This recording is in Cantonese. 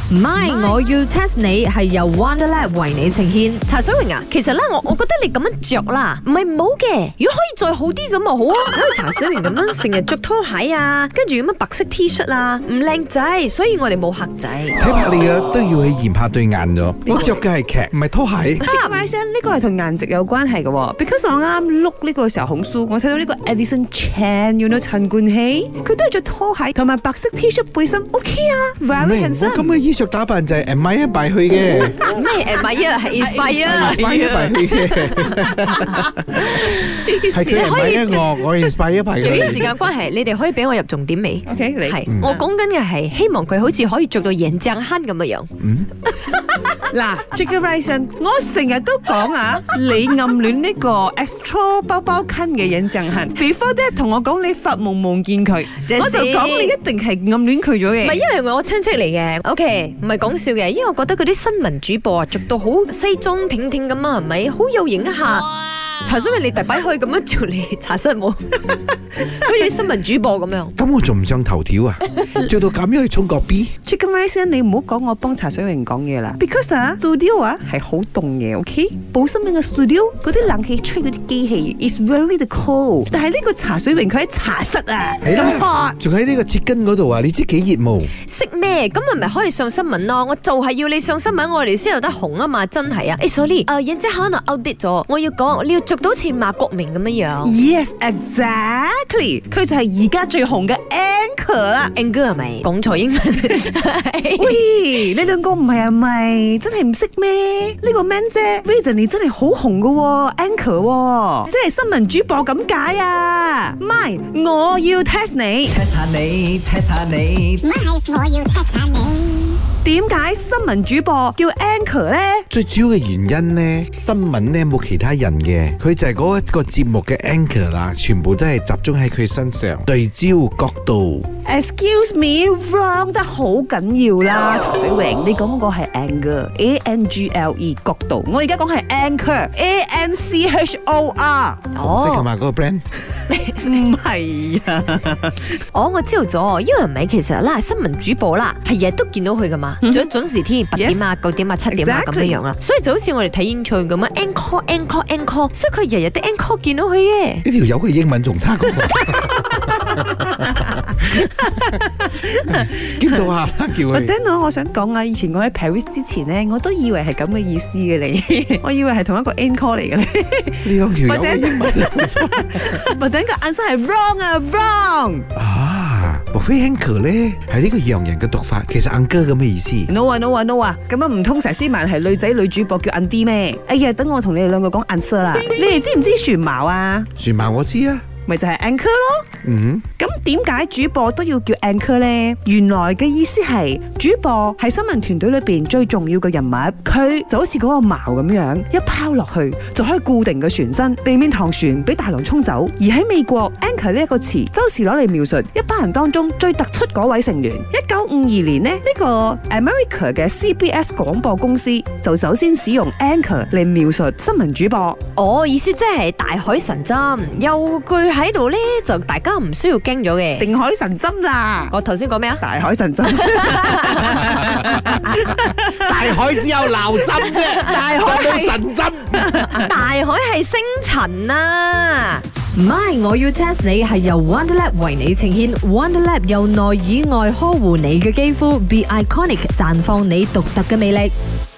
唔係，我要 test 你係由 Wonderlab 為你呈獻。 茶水榮啊，其實咧我覺得你咁樣着啦，唔係唔好嘅。如果可以再好啲咁啊好啊，好似茶水榮咁樣成日着拖鞋啊，跟住咁樣白色 T 恤啊，唔靚仔，所以我哋冇客仔。 睇怕你嘅都要去驗下對眼咗。你着嘅係劇，唔係拖鞋。 呢個係同顏值有關係嘅喎 ，because 我啱碌呢個時候紅書，我睇到呢個 Edison Chan，you know 陳冠希，佢都係着拖鞋同埋白色 T 恤背心 ，OK 啊 ，very handsome。 我咁嘅衣着打扮就係 admire by 去嘅。 咩admire係 inspire 去嘅。係佢 admire我 inspire by 佢。 由於時間關係，你哋可以俾我入重點未 ？OK， 你係我講緊嘅係希望佢好似可以做到眼鏡坑咁嘅樣。 嗱 Jigger Rising， 我成日都講啊，你暗戀呢個 Astro 包包坑嘅印象痕 ，before that 同我講你發夢夢見佢，我就講你一定係暗戀佢咗嘅。 唔係因為我親戚嚟嘅 ，OK， 唔係講笑嘅，因為我覺得嗰啲新聞主播啊，着到好西裝挺挺咁啊，係咪好有型一下？茶水榮你第擺可以咁樣做你茶室冇，好似新聞主播咁樣。 咁我仲唔上頭條啊？做到咁樣去衝個 B。Chicken Rice， 你唔好講我幫茶水榮講嘢啦 ，because 啊 studio 啊係好凍嘅 ，OK？ 報新聞嘅 studio 嗰啲冷氣吹嗰啲機器 is very cold， 但係呢個茶水榮佢喺茶室啊，咁 hot， 仲喺呢個切根嗰度啊！你知幾熱冇？ 識咩？咁咪可以上新聞咯！我就係要你上新聞，我哋先有得紅啊嘛！真係啊！誒 sorry， 人姐可能 outdate 咗，我要講你要着到似馬國明咁樣樣。 Yes exactly， 佢就係而家最紅嘅 anchor 啦。 anchor 係咪講錯英文？ 喂，你兩個唔係啊咪？真係唔識咩？呢個 man 姐 Reason 你真係好紅噶喎 ，anchor， 即係新聞主播咁解啊！咪，我要 test 你 ，test 下你 ，test 下你， 咪，我要 test 下你。 點解新聞主播叫 anchor 咧？ 最主要嘅原因呢，新聞呢冇其他人嘅，佢就係嗰一個節目嘅 anchor 啦，全部都係集中喺佢身上，對焦角度。 Excuse me，wrong 得好緊要啦，茶水榮，你講嗰個係 angle，A-N-G-L-E 角度，我而家講係 anchor，A-N-C-H-O-R。 紅色同埋嗰個 brand。 唔係啊！ 我知道咗，因為唔係其實啦，新聞主播啦，係日日都見到佢噶嘛，仲要準時添，8點啊、9點啊、7點啊咁樣樣啦，所以就好似我哋睇演唱咁啊 ，encore， 所以佢日日都 encore 見到佢嘅。 呢條友佢英文仲差過我，見到下啦，叫佢。 等我想講啊，以前我喺 Paris 之前咧，我都以為係咁嘅意思嘅你，我以為係同一個 encore 嚟嘅咧。 呢兩條友嘅英文咪等個 answer 係 wrong 啊 wrong 啊！莫非 anchor 咧係呢個洋人嘅讀法，其實 uncle 咁嘅意思。 no 啊 no 啊 no 啊！咁樣唔通佘詩曼係女仔女主播叫 Andy 咩？哎呀，等我同你哋兩個講 answer 啦。你哋知唔知船矛啊？ 船矛我知啊。 咪就係 anchor 咯。咁點解主播都要叫 anchor 呢？原來嘅意思係主播係新聞團隊裏邊最重要嘅人物，佢就好似嗰個矛咁樣，一拋落去就可以固定嘅船身，避免唐船俾大浪沖走。而喺美國 anchor 呢一個詞，周時攞嚟描述一班人當中最突出嗰位成員。1952年呢，呢個 America 嘅 CBS 廣播公司就首先使用 anchor 嚟描述新聞主播。 意思即係大海神針，有句喺度咧，就大家唔需要驚咗嘅。 定海神針啦！ 我頭先講咩啊？ 大海神針， 大海只有撈針啫，大海冇神針。 大海係星塵啊！ 唔係，我要 test 你係由 Wonderlab 為你呈獻 ，Wonderlab 由內以外呵護你嘅肌膚 ，Be Iconic 綻放你獨特嘅魅力。